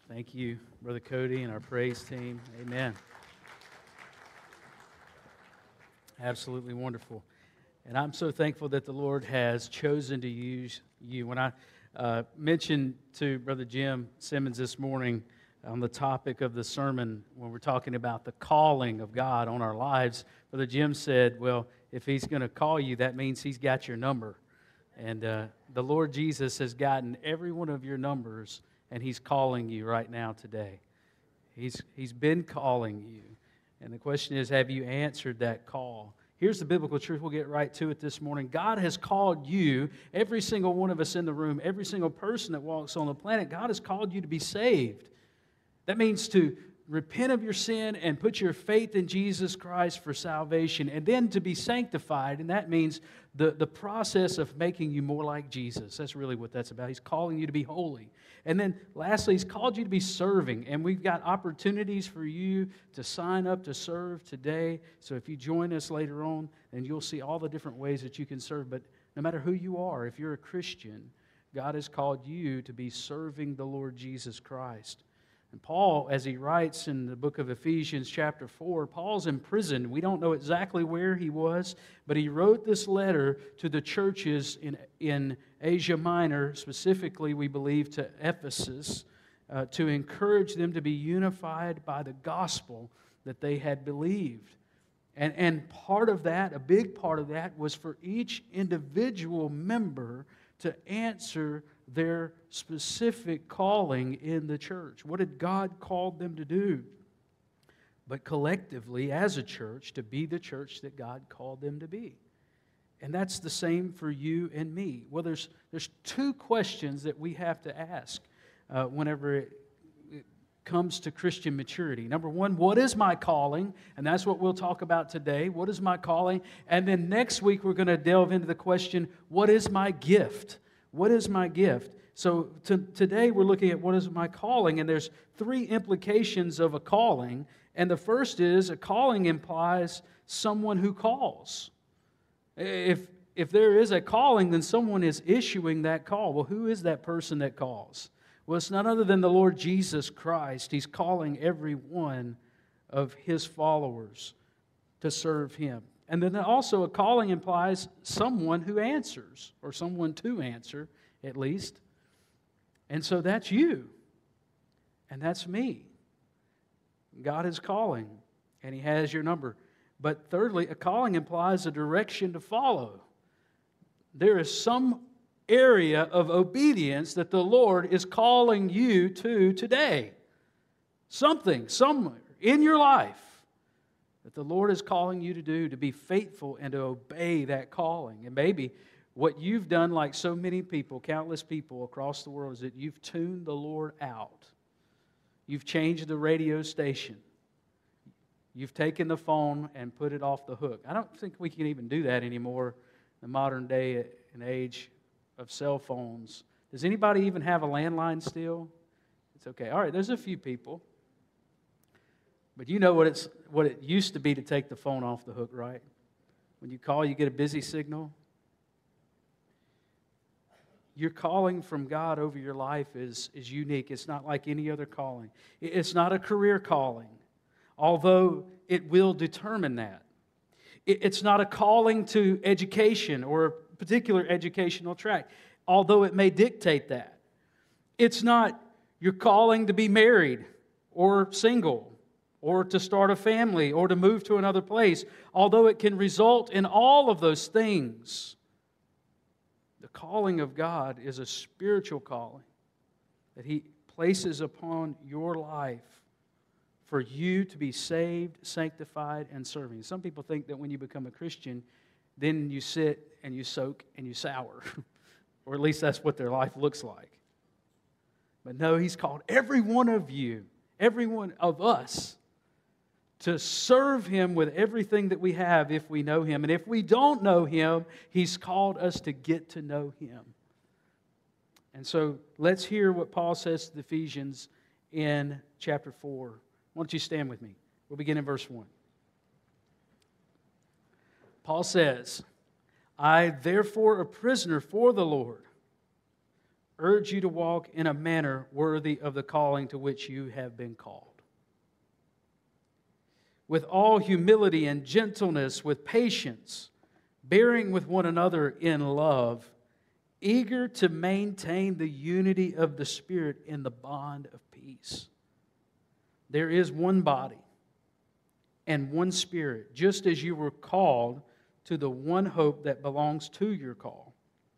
Thank you, Brother Cody and our praise team. Amen. Absolutely wonderful. And I'm so thankful that the Lord has chosen to use you. When I mentioned to Brother Jim Simmons this morning on the topic of the sermon, when we're talking about the calling of God on our lives, Brother Jim said, well, if He's going to call you, that means He's got your number. And the Lord Jesus has gotten every one of your numbers, and He's calling you right now today. He's been calling you. And the question is, have you answered that call? Here's the biblical truth. We'll get right to it this morning. God has called you, every single one of us in the room, every single person that walks on the planet, God has called you to be saved. That means to repent of your sin and put your faith in Jesus Christ for salvation, and then to be sanctified, and that means the process of making you more like Jesus. That's really what that's about. He's calling you to be holy. And then lastly, He's called you to be serving, and we've got opportunities for you to sign up to serve today. So if you join us later on, then you'll see all the different ways that you can serve. But no matter who you are, if you're a Christian, God has called you to be serving the Lord Jesus Christ. And Paul, as he writes in the book of Ephesians chapter 4, Paul's in prison. We don't know exactly where he was, but he wrote this letter to the churches in Asia Minor, specifically, we believe, to Ephesus, to encourage them to be unified by the gospel that they had believed. And part of that, a big part of that, was for each individual member to answer their specific calling in the church. What had God called them to do? But collectively, as a church, to be the church that God called them to be. And that's the same for you and me. Well, there's two questions that we have to ask whenever it comes to Christian maturity. Number one, what is my calling? And that's what we'll talk about today. What is my calling? And then next week we're going to delve into the question, what is my gift? What is my gift? So today we're looking at what is my calling, and there's three implications of a calling. And the first is a calling implies someone who calls. If there is a calling, then someone is issuing that call. Well, who is that person that calls? Well, it's none other than the Lord Jesus Christ. He's calling every one of His followers to serve Him. And then also a calling implies someone who answers, or someone to answer, at least. And so that's you, and that's me. God is calling, and He has your number. But thirdly, a calling implies a direction to follow. There is some area of obedience that the Lord is calling you to today. Something, somewhere in your life that the Lord is calling you to do, to be faithful and to obey that calling. And maybe what you've done, like so many people, countless people across the world, is that you've tuned the Lord out. You've changed the radio station. You've taken the phone and put it off the hook. I don't think we can even do that anymore in the modern day and age of cell phones. Does anybody even have a landline still? It's okay. All right, there's a few people. But you know what it used to be to take the phone off the hook, right? When you call, you get a busy signal. Your calling from God over your life is unique. It's not like any other calling. It's not a career calling, although it will determine that. It's not a calling to education or a particular educational track, although it may dictate that. It's not your calling to be married or single, or to start a family, or to move to another place, although it can result in all of those things. The calling of God is a spiritual calling that He places upon your life for you to be saved, sanctified, and serving. Some people think that when you become a Christian, then you sit and you soak and you sour, or at least that's what their life looks like. But no, He's called every one of you, every one of us, to serve Him with everything that we have if we know Him. And if we don't know Him, He's called us to get to know Him. And so let's hear what Paul says to the Ephesians in chapter 4. Why don't you stand with me? We'll begin in verse 1. Paul says, I, therefore, a prisoner for the Lord, urge you to walk in a manner worthy of the calling to which you have been called. With all humility and gentleness, with patience, bearing with one another in love, eager to maintain the unity of the Spirit in the bond of peace. There is one body and one Spirit, just as you were called to the one hope that belongs to your call.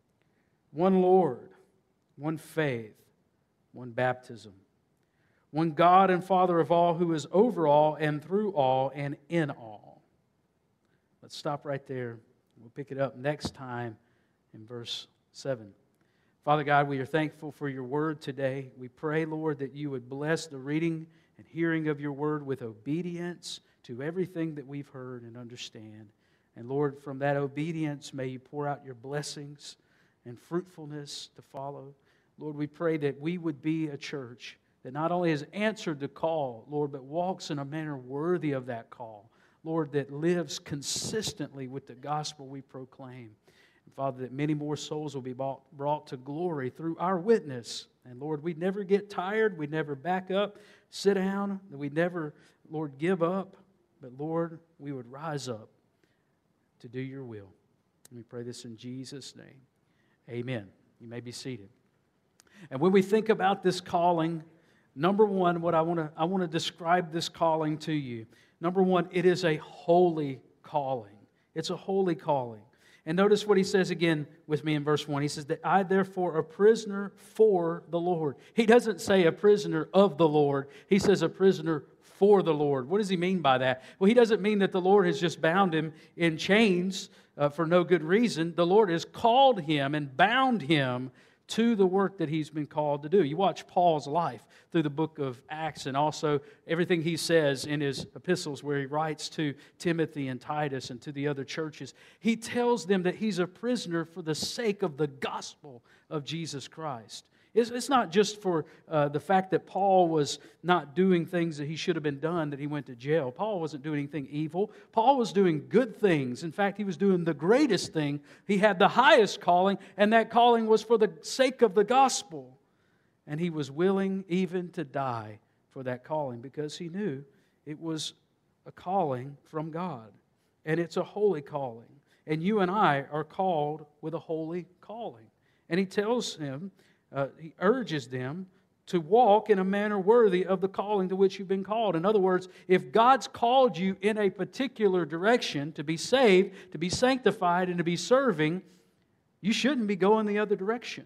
One Lord, one faith, one baptism, one God and Father of all, who is over all and through all and in all. Let's stop right there. We'll pick it up next time in verse 7. Father God, we are thankful for your word today. We pray, Lord, that you would bless the reading and hearing of your word with obedience to everything that we've heard and understand. And Lord, from that obedience, may you pour out your blessings and fruitfulness to follow. Lord, we pray that we would be a church that not only has answered the call, Lord, but walks in a manner worthy of that call. Lord, that lives consistently with the gospel we proclaim. And Father, that many more souls will be brought to glory through our witness. And Lord, we'd never get tired, we'd never back up, sit down, that we'd never, Lord, give up. But Lord, we would rise up to do your will. And we pray this in Jesus' name. Amen. You may be seated. And when we think about this calling, number one, what I want to describe this calling to you. Number one, it is a holy calling. It's a holy calling. And notice what he says again with me in verse 1. He says that I therefore a prisoner for the Lord. He doesn't say a prisoner of the Lord. He says a prisoner for the Lord. What does he mean by that? Well, he doesn't mean that the Lord has just bound him in chains for no good reason. The Lord has called him and bound him to the work that he's been called to do. You watch Paul's life through the book of Acts and also everything he says in his epistles where he writes to Timothy and Titus and to the other churches. He tells them that he's a prisoner for the sake of the gospel of Jesus Christ. It's not just for the fact that Paul was not doing things that he should have been done that he went to jail. Paul wasn't doing anything evil. Paul was doing good things. In fact, he was doing the greatest thing. He had the highest calling, and that calling was for the sake of the gospel. And he was willing even to die for that calling because he knew it was a calling from God. And it's a holy calling. And you and I are called with a holy calling. And he tells him, he urges them to walk in a manner worthy of the calling to which you've been called. In other words, if God's called you in a particular direction to be saved, to be sanctified, and to be serving, you shouldn't be going the other direction.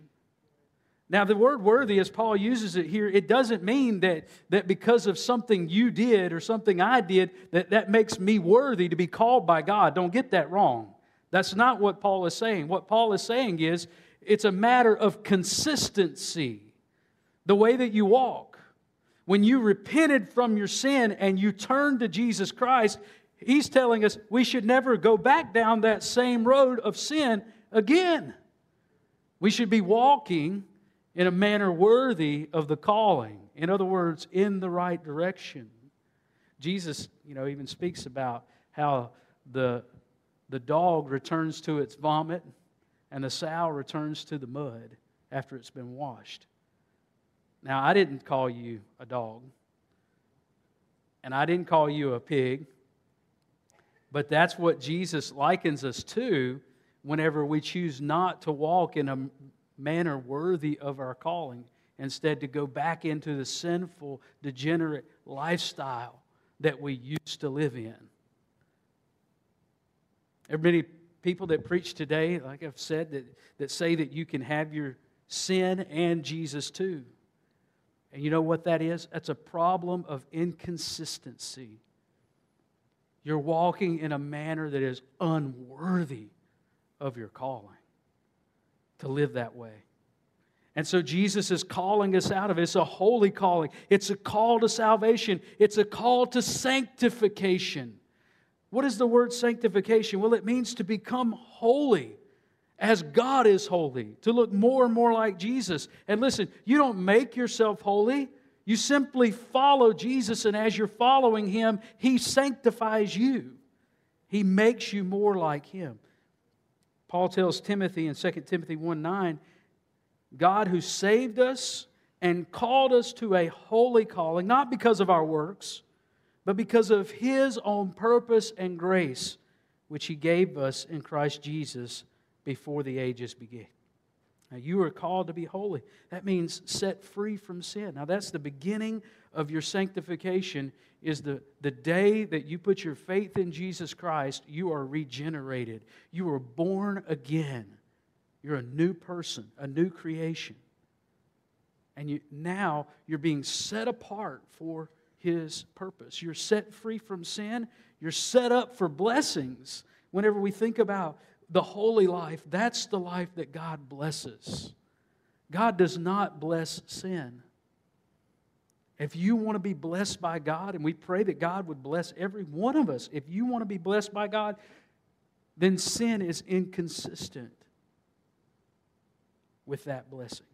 Now, the word worthy, as Paul uses it here, it doesn't mean that because of something you did or something I did, that makes me worthy to be called by God. Don't get that wrong. That's not what Paul is saying. What Paul is saying is, it's a matter of consistency. The way that you walk. When you repented from your sin and you turned to Jesus Christ, he's telling us we should never go back down that same road of sin again. We should be walking in a manner worthy of the calling. In other words, in the right direction. Jesus, even speaks about how the dog returns to its vomit and the sow returns to the mud after it's been washed. Now, I didn't call you a dog, and I didn't call you a pig, but that's what Jesus likens us to whenever we choose not to walk in a manner worthy of our calling, instead to go back into the sinful, degenerate lifestyle that we used to live in. There are many people that preach today, like I've said, that say that you can have your sin and Jesus too. And you know what that is? That's a problem of inconsistency. You're walking in a manner that is unworthy of your calling to live that way. And so Jesus is calling us out of it. It's a holy calling. It's a call to salvation. It's a call to sanctification. What is the word sanctification? Well, it means to become holy as God is holy, to look more and more like Jesus. And listen, you don't make yourself holy. You simply follow Jesus, and as you're following Him, He sanctifies you. He makes you more like Him. Paul tells Timothy in 2 Timothy 1:9, God who saved us and called us to a holy calling, not because of our works, but because of His own purpose and grace, which He gave us in Christ Jesus before the ages began. Now, you are called to be holy. That means set free from sin. Now, that's the beginning of your sanctification, is the day that you put your faith in Jesus Christ, you are regenerated. You are born again. You're a new person, a new creation. And now you're being set apart for His purpose. You're set free from sin. You're set up for blessings. Whenever we think about the holy life, that's the life that God blesses. God does not bless sin. If you want to be blessed by God, and we pray that God would bless every one of us, if you want to be blessed by God, then sin is inconsistent with that blessing.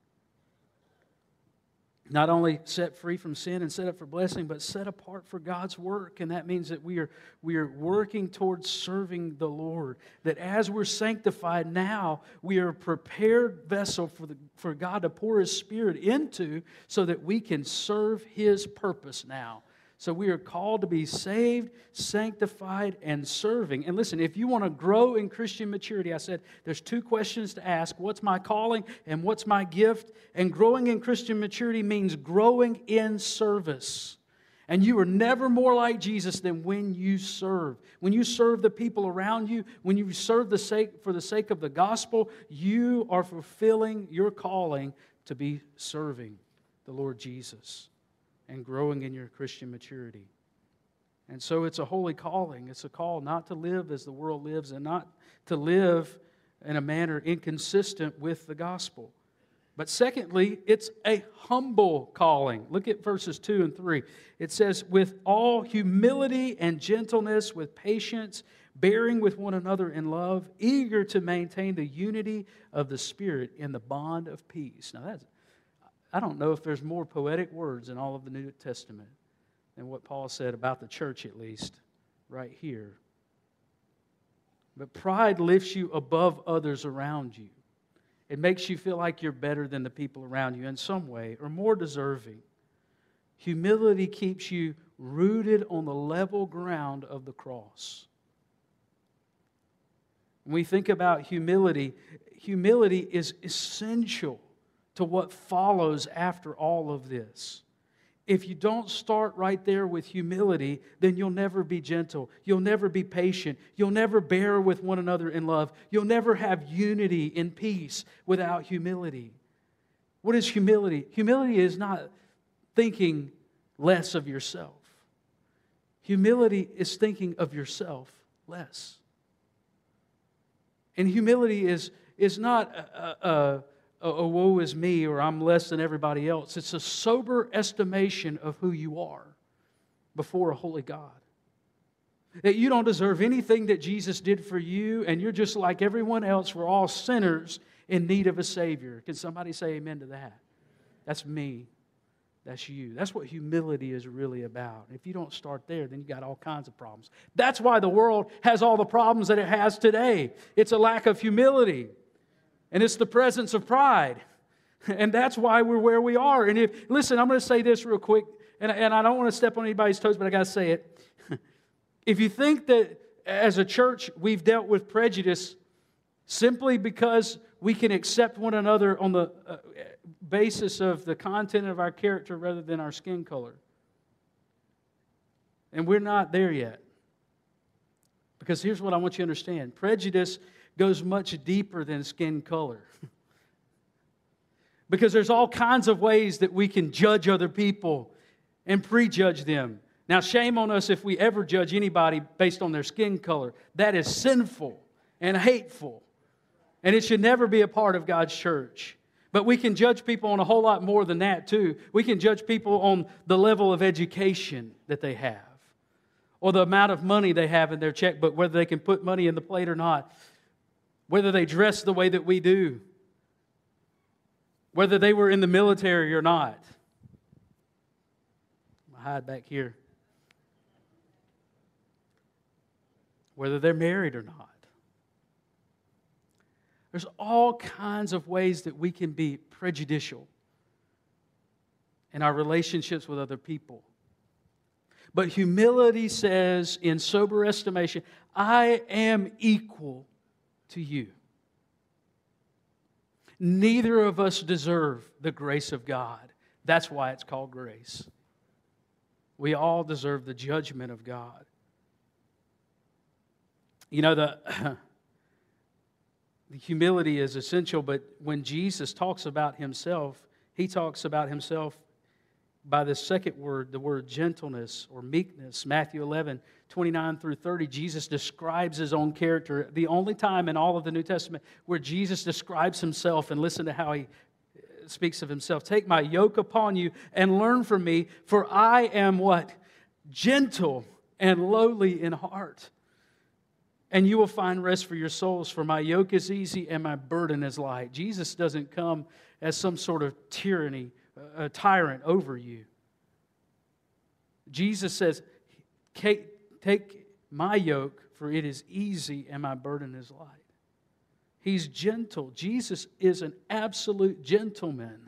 Not only set free from sin and set up for blessing, but set apart for God's work. And that means that we are working towards serving the Lord. That as we're sanctified now, we are a prepared vessel for God to pour His Spirit into so that we can serve His purpose now. So we are called to be saved, sanctified, and serving. And listen, if you want to grow in Christian maturity, I said there's 2 questions to ask. What's my calling and what's my gift? And growing in Christian maturity means growing in service. And you are never more like Jesus than when you serve. When you serve the people around you, when you serve for the sake of the gospel, you are fulfilling your calling to be serving the Lord Jesus and growing in your Christian maturity. And so it's a holy calling. It's a call not to live as the world lives and not to live in a manner inconsistent with the gospel. But secondly, it's a humble calling. Look at verses 2 and 3. It says, with all humility and gentleness, with patience, bearing with one another in love, eager to maintain the unity of the Spirit in the bond of peace. Now I don't know if there's more poetic words in all of the New Testament than what Paul said about the church, at least, right here. But pride lifts you above others around you. It makes you feel like you're better than the people around you in some way, or more deserving. Humility keeps you rooted on the level ground of the cross. When we think about humility, humility is essential to what follows after all of this. If you don't start right there with humility, then you'll never be gentle. You'll never be patient. You'll never bear with one another in love. You'll never have unity in peace without humility. What is humility? Humility is not thinking less of yourself. Humility is thinking of yourself less. And humility is not a woe is me, or I'm less than everybody else. It's a sober estimation of who you are before a holy God. That you don't deserve anything that Jesus did for you, and you're just like everyone else. We're all sinners in need of a Savior. Can somebody say amen to that? That's me. That's you. That's what humility is really about. If you don't start there, then you got all kinds of problems. That's why the world has all the problems that it has today. It's a lack of humility. And it's the presence of pride. And that's why we're where we are. And listen, I'm going to say this real quick, and I don't want to step on anybody's toes, but I got to say it. If you think that as a church we've dealt with prejudice simply because we can accept one another on the basis of the content of our character rather than our skin color, and we're not there yet. Because here's what I want you to understand. Prejudice goes much deeper than skin color. Because there's all kinds of ways that we can judge other people and prejudge them. Now, shame on us if we ever judge anybody based on their skin color. That is sinful and hateful. And it should never be a part of God's church. But we can judge people on a whole lot more than that, too. We can judge people on the level of education that they have, or the amount of money they have in their checkbook, whether they can put money in the plate or not, whether they dress the way that we do, whether they were in the military or not. I'll hide back here. Whether they're married or not. There's all kinds of ways that we can be prejudicial in our relationships with other people. But humility says, in sober estimation, I am equal to you. Neither of us deserve the grace of God. That's why it's called grace. We all deserve the judgment of God. You know, the humility is essential, but when Jesus talks about Himself, He talks about Himself by the second word, the word gentleness or meekness. Matthew 11, 29 through 30, Jesus describes His own character. The only time in all of the New Testament where Jesus describes Himself, and listen to how He speaks of Himself. Take my yoke upon you and learn from me, for I am what? Gentle and lowly in heart. And you will find rest for your souls, for my yoke is easy and my burden is light. Jesus doesn't come as some sort of tyranny, a tyrant over you. Jesus says, take my yoke, for it is easy and my burden is light. He's gentle. Jesus is an absolute gentleman.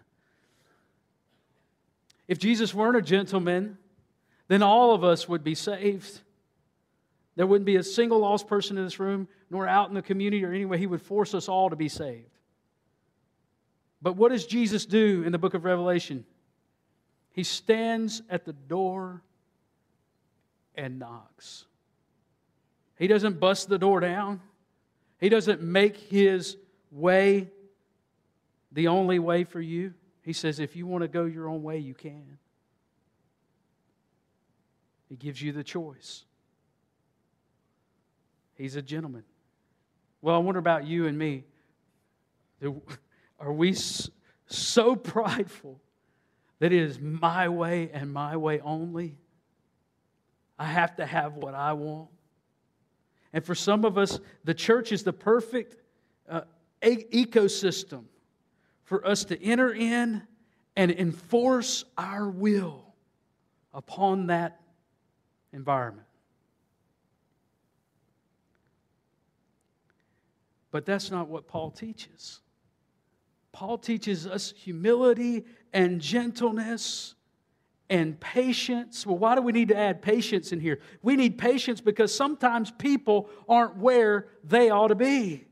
If Jesus weren't a gentleman, then all of us would be saved. There wouldn't be a single lost person in this room, nor out in the community or anywhere. He would force us all to be saved. But what does Jesus do in the book of Revelation? He stands at the door and knocks. He doesn't bust the door down. He doesn't make His way the only way for you. He says, if you want to go your own way, you can. He gives you the choice. He's a gentleman. Well, I wonder about you and me. Are we so prideful that it is my way and my way only? I have to have what I want. And for some of us, the church is the perfect ecosystem for us to enter in and enforce our will upon that environment. But that's not what Paul teaches. Paul teaches us humility and gentleness and patience. Well, why do we need to add patience in here? We need patience because sometimes people aren't where they ought to be.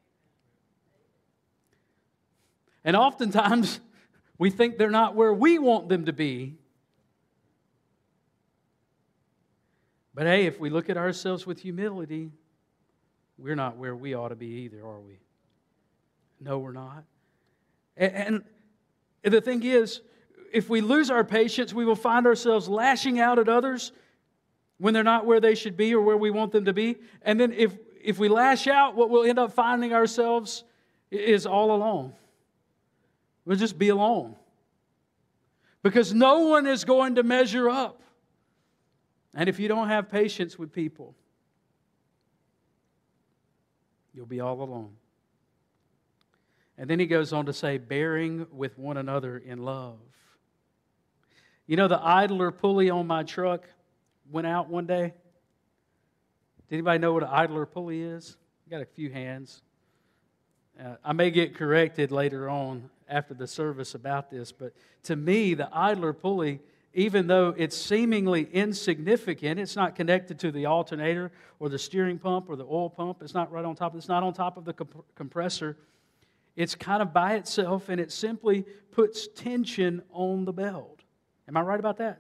And oftentimes, we think they're not where we want them to be. But hey, if we look at ourselves with humility, we're not where we ought to be either, are we? No, we're not. And the thing is, if we lose our patience, we will find ourselves lashing out at others when they're not where they should be or where we want them to be. And then if we lash out, what we'll end up finding ourselves is all alone. We'll just be alone. Because no one is going to measure up. And if you don't have patience with people, you'll be all alone. And then he goes on to say, bearing with one another in love. You know, the idler pulley on my truck went out one day. Did anybody know what an idler pulley is? I got a few hands. I may get corrected later on after the service about this, but to me, the idler pulley, even though it's seemingly insignificant, it's not connected to the alternator or the steering pump or the oil pump. It's not right on top. It's not on top of the compressor. It's kind of by itself, and it simply puts tension on the belt. Am I right about that?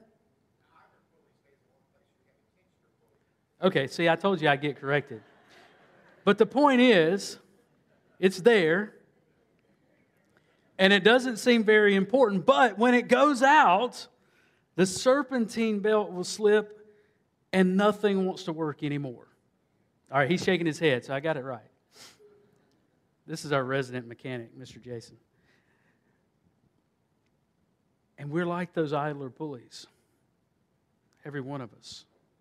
Okay, see, I told you I'd get corrected. But the point is, it's there, and it doesn't seem very important, but when it goes out, the serpentine belt will slip, and nothing wants to work anymore. All right, he's shaking his head, so I got it right. This is our resident mechanic, Mr. Jason. And we're like those idler pulleys, every one of us.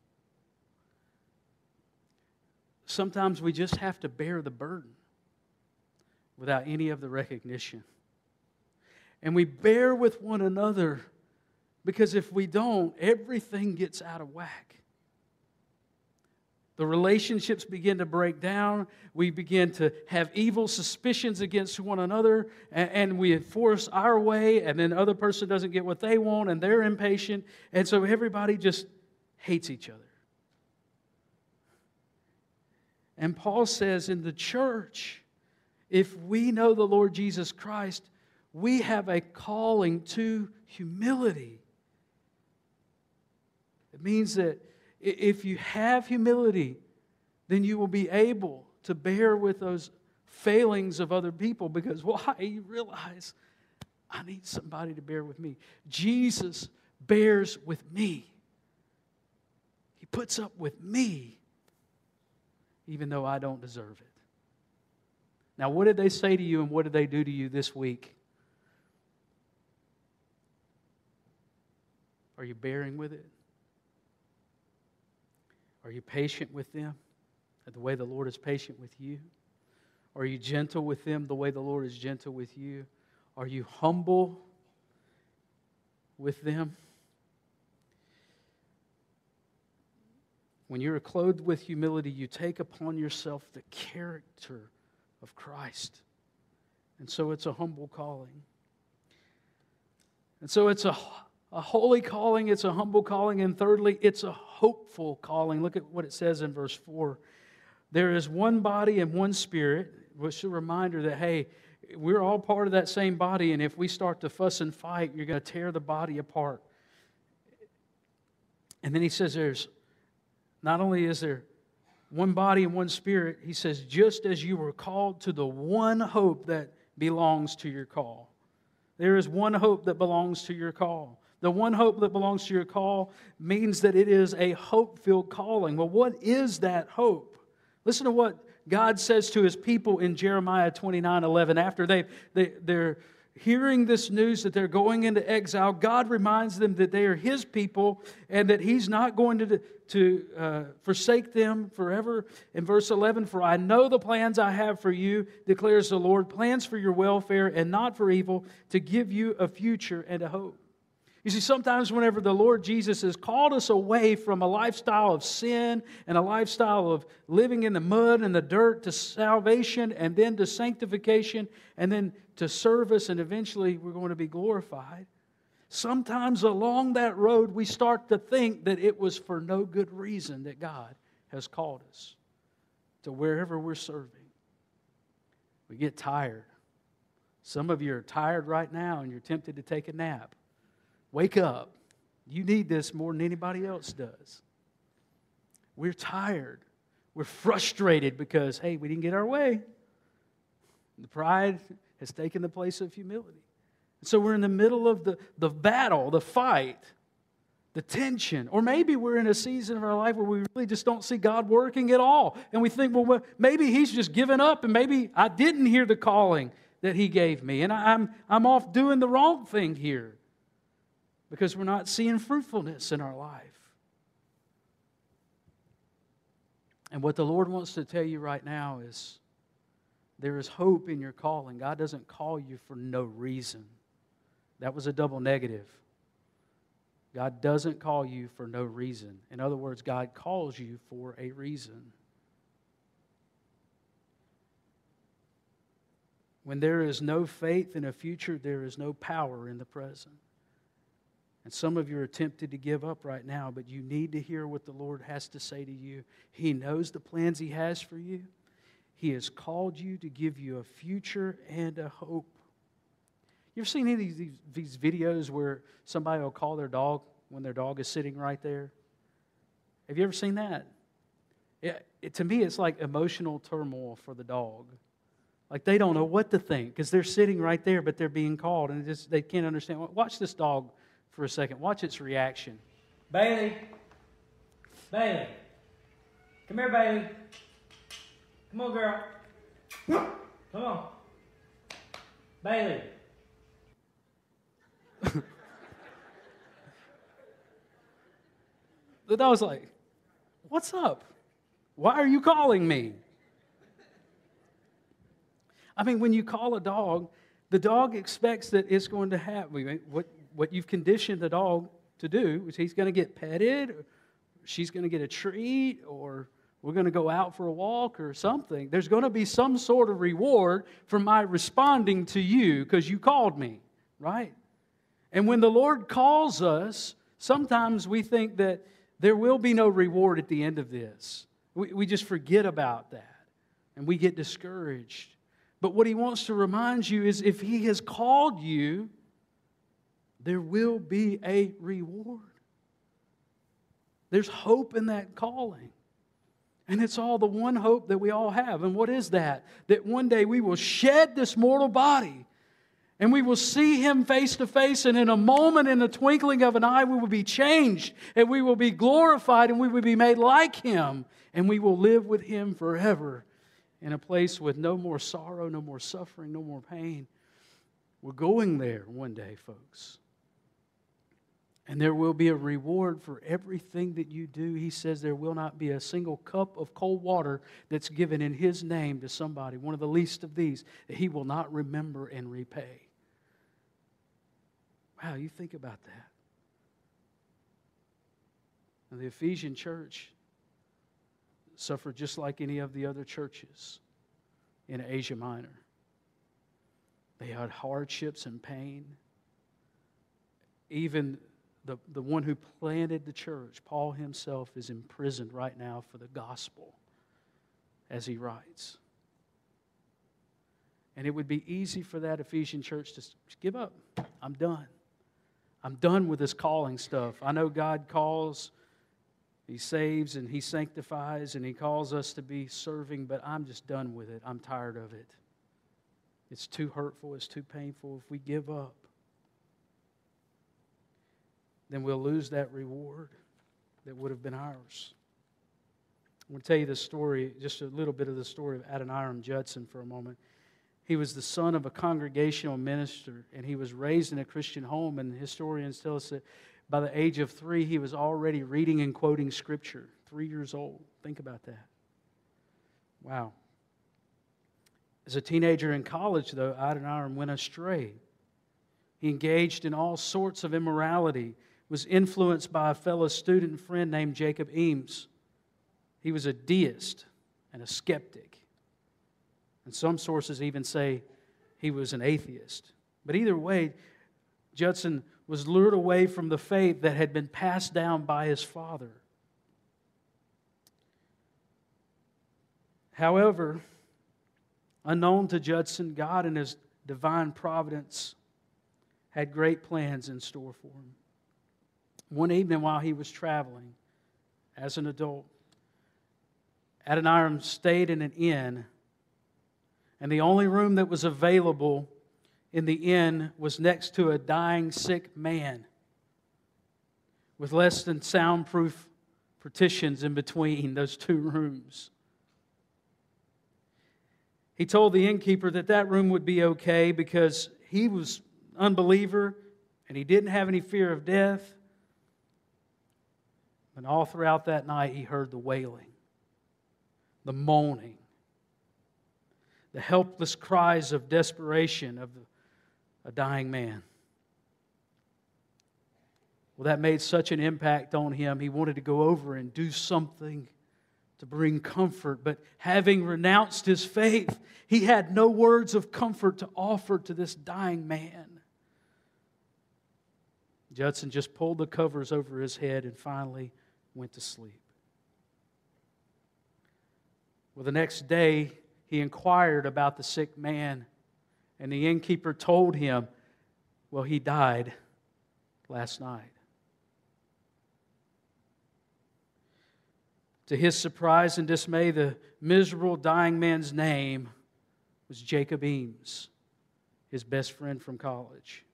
Sometimes we just have to bear the burden without any of the recognition. And we bear with one another because if we don't, everything gets out of whack. The relationships begin to break down. We begin to have evil suspicions against one another, and we force our way, and then the other person doesn't get what they want, and they're impatient, and so everybody just hates each other. And Paul says in the church, if we know the Lord Jesus Christ, we have a calling to humility. It means that if you have humility, then you will be able to bear with those failings of other people, because why? You realize, I need somebody to bear with me. Jesus bears with me. He puts up with me, even though I don't deserve it. Now, what did they say to you and what did they do to you this week? Are you bearing with it? Are you patient with them the way the Lord is patient with you? Are you gentle with them the way the Lord is gentle with you? Are you humble with them? When you're clothed with humility, you take upon yourself the character of Christ. And so it's a humble calling. And so it's a holy calling, it's a humble calling, and thirdly, it's a hopeful calling. Look at what it says in verse 4. There is one body and one Spirit, which is a reminder that, hey, we're all part of that same body, and if we start to fuss and fight, you're going to tear the body apart. And then he says not only is there one body and one Spirit, he says, just as you were called to the one hope that belongs to your call. There is one hope that belongs to your call. The one hope that belongs to your call means that it is a hope-filled calling. Well, what is that hope? Listen to what God says to His people in Jeremiah 29:11. After they're hearing this news that they're going into exile, God reminds them that they are His people and that He's not going to forsake them forever. In verse 11, for I know the plans I have for you, declares the Lord, plans for your welfare and not for evil, to give you a future and a hope. You see, sometimes whenever the Lord Jesus has called us away from a lifestyle of sin and a lifestyle of living in the mud and the dirt to salvation and then to sanctification and then to service, and eventually we're going to be glorified, sometimes along that road we start to think that it was for no good reason that God has called us to wherever we're serving. We get tired. Some of you are tired right now and you're tempted to take a nap. Wake up. You need this more than anybody else does. We're tired. We're frustrated because, hey, we didn't get our way. The pride has taken the place of humility. So we're in the middle of the battle, the fight, the tension. Or maybe we're in a season of our life where we really just don't see God working at all. And we think, well, maybe He's just given up and maybe I didn't hear the calling that He gave me. And I'm off doing the wrong thing here, because we're not seeing fruitfulness in our life. And what the Lord wants to tell you right now is there is hope in your calling. God doesn't call you for no reason. That was a double negative. God doesn't call you for no reason. In other words, God calls you for a reason. When there is no faith in a future, there is no power in the present. And some of you are tempted to give up right now, but you need to hear what the Lord has to say to you. He knows the plans He has for you. He has called you to give you a future and a hope. You ever seen any of these videos where somebody will call their dog when their dog is sitting right there? Have you ever seen that? To me, it's like emotional turmoil for the dog. Like they don't know what to think because they're sitting right there, but they're being called, and they can't understand. Watch this dog for a second. Watch its reaction. Bailey. Bailey. Come here, Bailey. Come on, girl. Come on. Bailey. The dog's like, what's up? Why are you calling me? I mean, when you call a dog, the dog expects that it's going to have what you've conditioned the dog to do is he's going to get petted, or she's going to get a treat, or We're going to go out for a walk or something. There's going to be some sort of reward for my responding to you because you called me, right? And when the Lord calls us, sometimes we think that there will be no reward at the end of this. We just forget about that and we get discouraged. But what He wants to remind you is if He has called you, there will be a reward. There's hope in that calling. And it's all the one hope that we all have. And what is that? That one day we will shed this mortal body and we will see Him face to face, and in a moment, in the twinkling of an eye, we will be changed and we will be glorified and we will be made like Him, and we will live with Him forever in a place with no more sorrow, no more suffering, no more pain. We're going there one day, folks. And there will be a reward for everything that you do. He says there will not be a single cup of cold water that's given in His name to somebody, one of the least of these, that He will not remember and repay. Wow, you think about that. Now, the Ephesian church suffered just like any of the other churches in Asia Minor. They had hardships and pain. Even the one who planted the church, Paul himself, is imprisoned right now for the gospel as he writes. And it would be easy for that Ephesian church to give up. I'm done. I'm done with this calling stuff. I know God calls, He saves, and He sanctifies, and He calls us to be serving, but I'm just done with it. I'm tired of it. It's too hurtful. It's too painful. If we give up, then we'll lose that reward that would have been ours. I'm going to tell you the story, just a little bit of the story of Adoniram Judson for a moment. He was the son of a congregational minister, and he was raised in a Christian home, and historians tell us that by the age of 3, he was already reading and quoting Scripture, 3 years old. Think about that. Wow. As a teenager in college, though, Adoniram went astray. He engaged in all sorts of immorality, was influenced by a fellow student and friend named Jacob Eames. He was a deist and a skeptic. And some sources even say he was an atheist. But either way, Judson was lured away from the faith that had been passed down by his father. However, unknown to Judson, God in His divine providence had great plans in store for him. One evening while he was traveling as an adult, Adoniram stayed in an inn, and the only room that was available in the inn was next to a dying, sick man with less than soundproof partitions in between those two rooms. He told the innkeeper that that room would be okay because he was an unbeliever and he didn't have any fear of death. And all throughout that night, he heard the wailing, the moaning, the helpless cries of desperation of a dying man. Well, that made such an impact on him, he wanted to go over and do something to bring comfort. But having renounced his faith, he had no words of comfort to offer to this dying man. Judson just pulled the covers over his head and finally went to sleep. Well, the next day, he inquired about the sick man, and the innkeeper told him, well, he died last night. To his surprise and dismay, the miserable dying man's name was Jacob Eames, his best friend from college.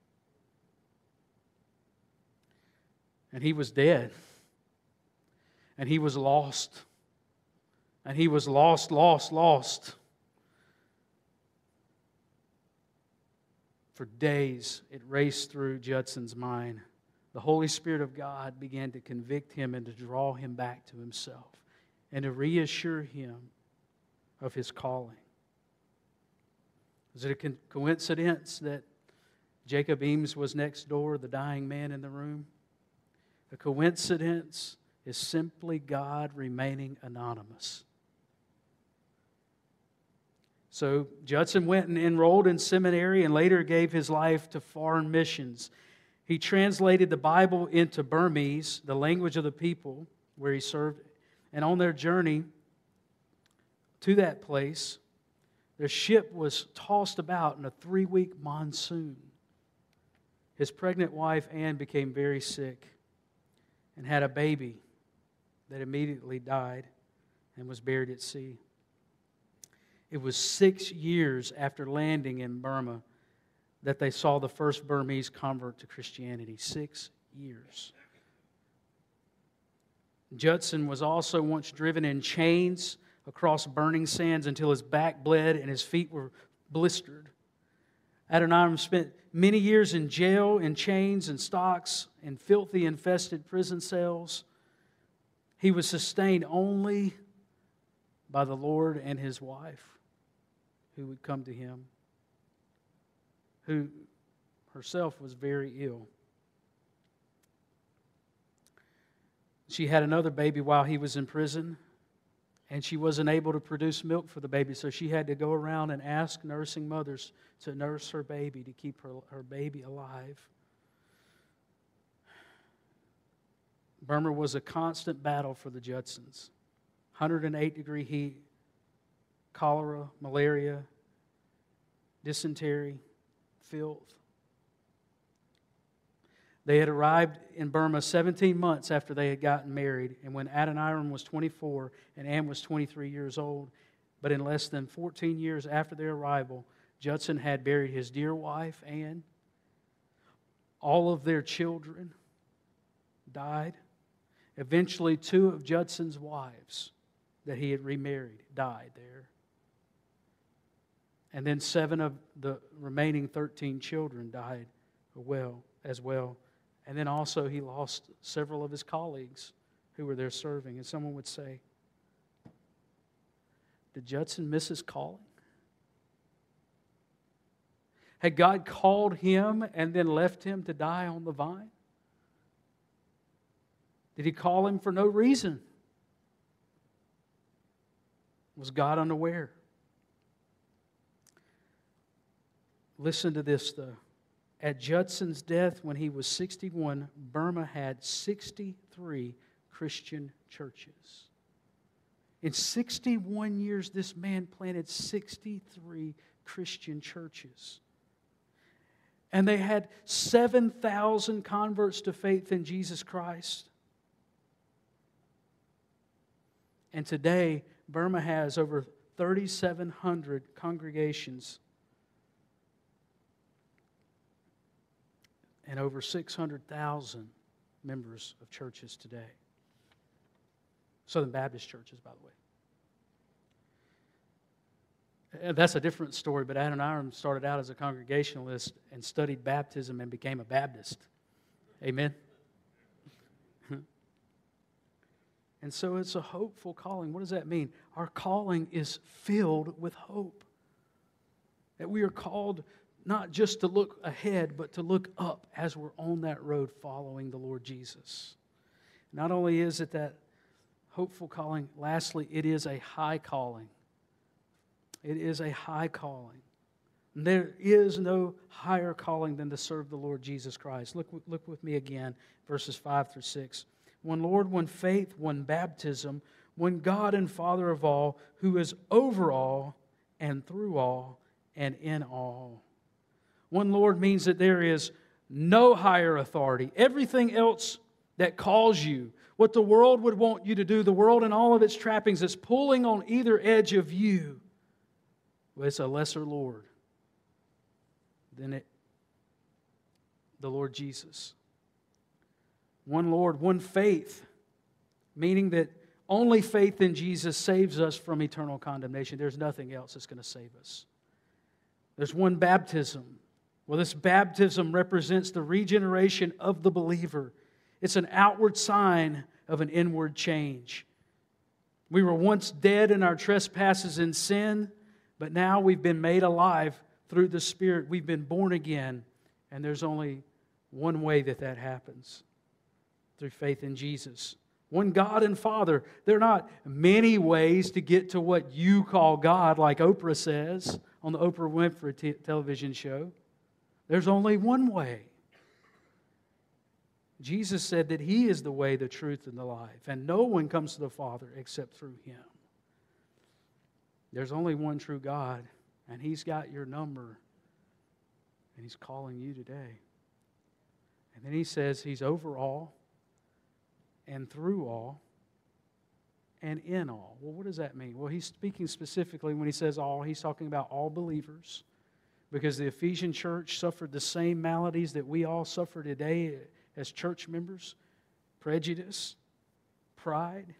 And he was dead. And he was lost. And he was lost. For days, it raced through Judson's mind. The Holy Spirit of God began to convict him and to draw him back to Himself and to reassure him of his calling. Is it a coincidence that Jacob Eames was next door, the dying man in the room? A coincidence is simply God remaining anonymous. So Judson went and enrolled in seminary and later gave his life to foreign missions. He translated the Bible into Burmese, the language of the people where he served. And on their journey to that place, their ship was tossed about in a 3-week monsoon. His pregnant wife, Anne, became very sick and had a baby that immediately died and was buried at sea. It was 6 years after landing in Burma that they saw the first Burmese convert to Christianity. 6 years. Judson was also once driven in chains across burning sands until his back bled and his feet were blistered. Adoniram spent many years in jail, in chains and stocks, in filthy, infested prison cells. He was sustained only by the Lord and his wife, who would come to him, who herself was very ill. She had another baby while he was in prison, and she wasn't able to produce milk for the baby, so she had to go around and ask nursing mothers to nurse her baby to keep her baby alive. Burma was a constant battle for the Judsons. 108-degree heat, cholera, malaria, dysentery, filth. They had arrived in Burma 17 months after they had gotten married, and when Adoniram was 24 and Anne was 23 years old, but in less than 14 years after their arrival, Judson had buried his dear wife, Anne. All of their children died. Eventually, 2 of Judson's wives that he had remarried died there. And then 7 of the remaining 13 children died as well. And then also he lost several of his colleagues who were there serving. And someone would say, did Judson miss his calling? Had God called him and then left him to die on the vine? Did He call him for no reason? Was God unaware? Listen to this, though. At Judson's death, when he was 61, Burma had 63 Christian churches. In 61 years, this man planted 63 Christian churches. And they had 7,000 converts to faith in Jesus Christ. And today, Burma has over 3,700 congregations and over 600,000 members of churches today. Southern Baptist churches, by the way. That's a different story, but Adoniram started out as a Congregationalist and studied baptism and became a Baptist. Amen? And so it's a hopeful calling. What does that mean? Our calling is filled with hope. That we are called not just to look ahead, but to look up as we're on that road following the Lord Jesus. Not only is it that hopeful calling, lastly, it is a high calling. It is a high calling. There is no higher calling than to serve the Lord Jesus Christ. Look with me again, verses 5 through 6. One Lord, one faith, one baptism, one God and Father of all, who is over all and through all and in all. One Lord means that there is no higher authority. Everything else that calls you, what the world would want you to do, the world and all of its trappings is pulling on either edge of you. Well, it's a lesser Lord than the Lord Jesus. One Lord, one faith, meaning that only faith in Jesus saves us from eternal condemnation. There's nothing else that's going to save us. There's one baptism. Well, this baptism represents the regeneration of the believer. It's an outward sign of an inward change. We were once dead in our trespasses and sin, but now we've been made alive through the Spirit. We've been born again, and there's only one way that happens. Through faith in Jesus. One God and Father. There are not many ways to get to what you call God, like Oprah says on the Oprah Winfrey television show. There's only one way. Jesus said that He is the way, the truth, and the life, and no one comes to the Father except through Him. There's only one true God, and He's got your number, and He's calling you today. And then He says He's over all, and through all, and in all. Well, what does that mean? Well, He's speaking specifically when He says all, He's talking about all believers, because the Ephesian church suffered the same maladies that we all suffer today as church members: prejudice, pride,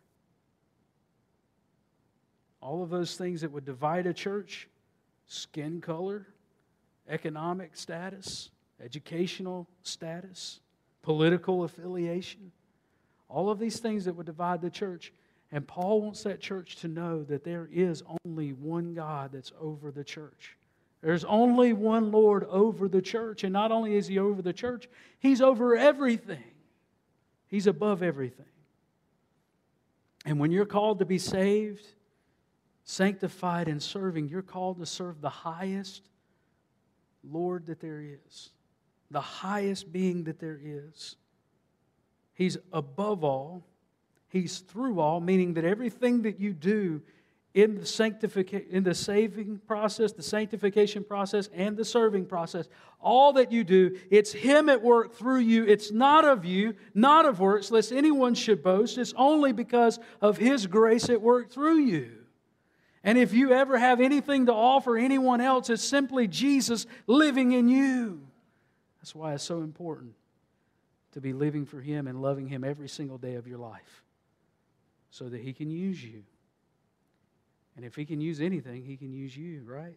all of those things that would divide a church: skin color, economic status, educational status, political affiliation, all of these things that would divide the church. And Paul wants that church to know that there is only one God that's over the church. There's only one Lord over the church. And not only is He over the church, He's over everything. He's above everything. And when you're called to be saved, sanctified, and serving, you're called to serve the highest Lord that there is, the highest being that there is. He's above all. He's through all, meaning that everything that you do in the saving process, the sanctification process, and the serving process, all that you do, it's Him at work through you. It's not of you, not of works, lest anyone should boast. It's only because of His grace at work through you. And if you ever have anything to offer anyone else, it's simply Jesus living in you. That's why it's so important to be living for Him and loving Him every single day of your life, so that He can use you. And if He can use anything, He can use you, right?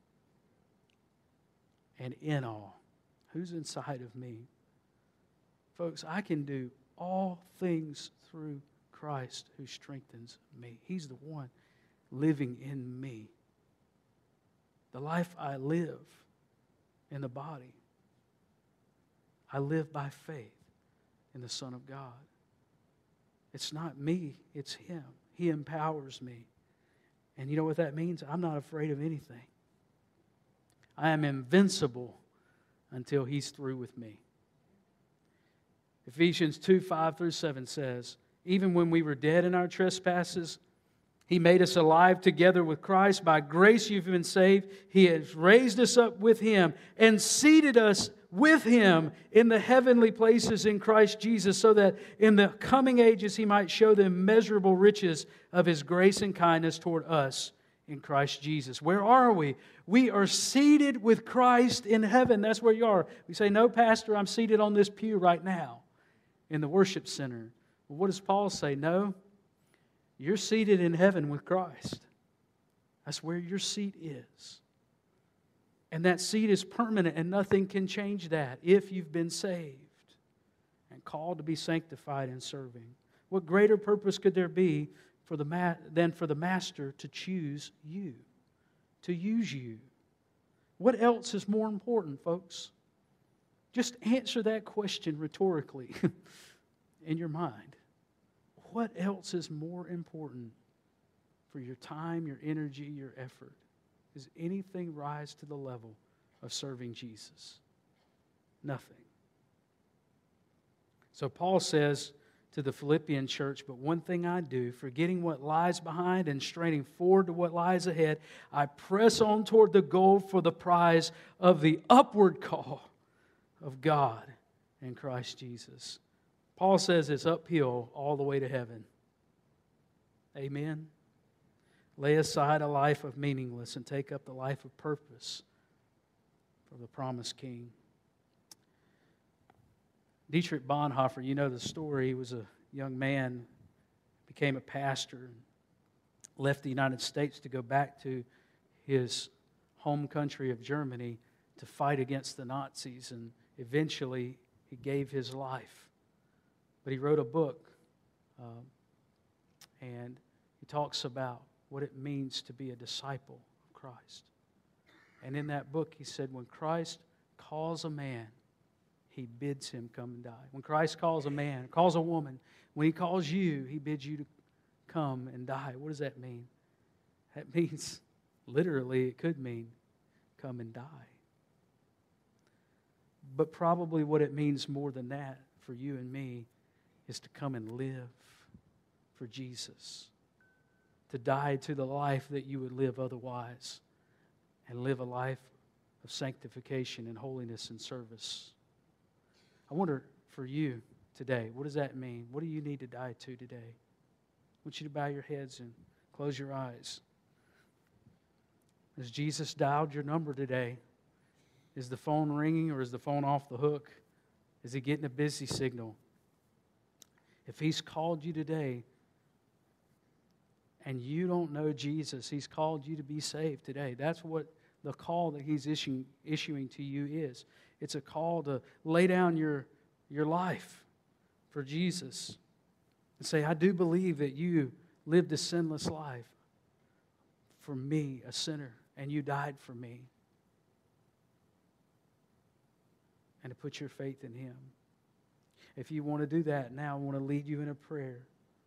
And in all, who's inside of me? Folks, I can do all things through Christ who strengthens me. He's the one living in me. The life I live in the body, I live by faith in the Son of God. It's not me, it's Him. He empowers me. And you know what that means? I'm not afraid of anything. I am invincible until He's through with me. Ephesians 2:5-7 says, even when we were dead in our trespasses, He made us alive together with Christ. By grace you've been saved. He has raised us up with Him and seated us with Him in the heavenly places in Christ Jesus, so that in the coming ages He might show the immeasurable riches of His grace and kindness toward us in Christ Jesus. Where are we? We are seated with Christ in heaven. That's where you are. We say, no, Pastor, I'm seated on this pew right now in the worship center. Well, what does Paul say? No, you're seated in heaven with Christ. That's where your seat is. And that seat is permanent, and nothing can change that if you've been saved and called to be sanctified and serving. What greater purpose could there be than for the Master to choose you, to use you? What else is more important, folks? Just answer that question rhetorically in your mind. What else is more important for your time, your energy, your effort? Does anything rise to the level of serving Jesus? Nothing. So Paul says to the Philippian church, but one thing I do, forgetting what lies behind and straining forward to what lies ahead, I press on toward the goal for the prize of the upward call of God in Christ Jesus. Paul says it's uphill all the way to heaven. Amen. Lay aside a life of meaningless and take up the life of purpose for the promised King. Dietrich Bonhoeffer, you know the story. He was a young man, became a pastor, and left the United States to go back to his home country of Germany to fight against the Nazis, and eventually he gave his life. But he wrote a book, and he talks about what it means to be a disciple of Christ. And in that book he said, when Christ calls a man, He bids him come and die. When Christ calls a man, calls a woman, when He calls you, He bids you to come and die. What does that mean? That means, literally, it could mean come and die. But probably what it means more than that for you and me is to come and live for Jesus. To die to the life that you would live otherwise and live a life of sanctification and holiness and service. I wonder for you today, what does that mean? What do you need to die to today? I want you to bow your heads and close your eyes. Has Jesus dialed your number today? Is the phone ringing or is the phone off the hook? Is He getting a busy signal? If He's called you today and you don't know Jesus, He's called you to be saved today. That's what the call that He's issuing to you is. It's a call to lay down your life for Jesus and say, I do believe that you lived a sinless life for me, a sinner, and you died for me. And to put your faith in Him. If you want to do that now, I want to lead you in a prayer.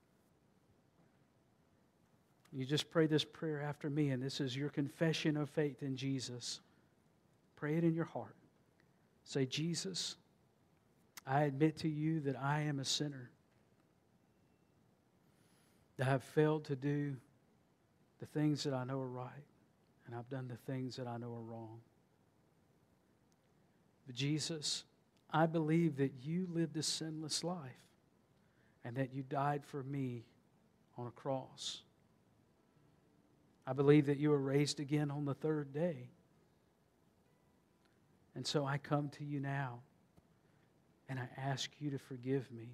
You just pray this prayer after me, and this is your confession of faith in Jesus. Pray it in your heart. Say, Jesus, I admit to you that I am a sinner, that I have failed to do the things that I know are right, and I've done the things that I know are wrong. But Jesus, I believe that you lived a sinless life and that you died for me on a cross. I believe that you were raised again on the third day. And so I come to you now and I ask you to forgive me.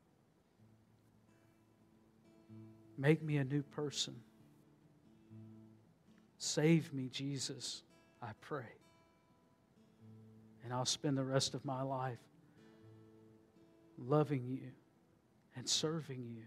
Make me a new person. Save me, Jesus, I pray. And I'll spend the rest of my life loving you and serving you.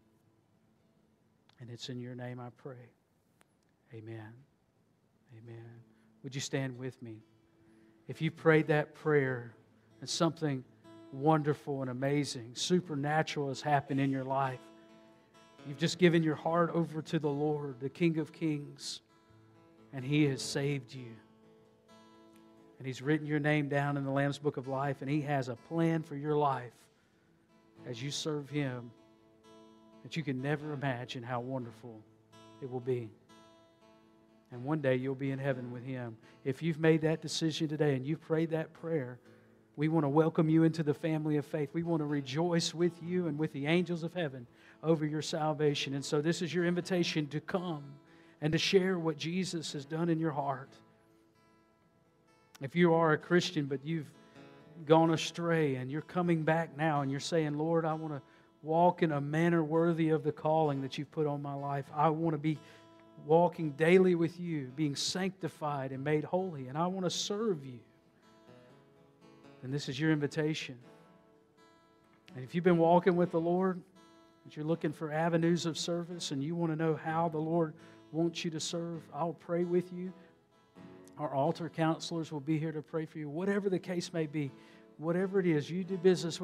And it's in your name I pray. Amen. Amen. Would you stand with me? If you prayed that prayer and something wonderful and amazing, supernatural has happened in your life, you've just given your heart over to the Lord, the King of Kings, and He has saved you. And He's written your name down in the Lamb's Book of Life, and He has a plan for your life as you serve Him that you can never imagine how wonderful it will be. And one day you'll be in heaven with Him. If you've made that decision today and you've prayed that prayer, we want to welcome you into the family of faith. We want to rejoice with you and with the angels of heaven over your salvation. And so this is your invitation to come and to share what Jesus has done in your heart. If you are a Christian but you've gone astray and you're coming back now and you're saying, Lord, I want to walk in a manner worthy of the calling that you've put on my life. I want to be walking daily with you, being sanctified and made holy, and I want to serve you. And this is your invitation. And if you've been walking with the Lord, and you're looking for avenues of service, and you want to know how the Lord wants you to serve, I'll pray with you. Our altar counselors will be here to pray for you. Whatever the case may be, whatever it is, you do business with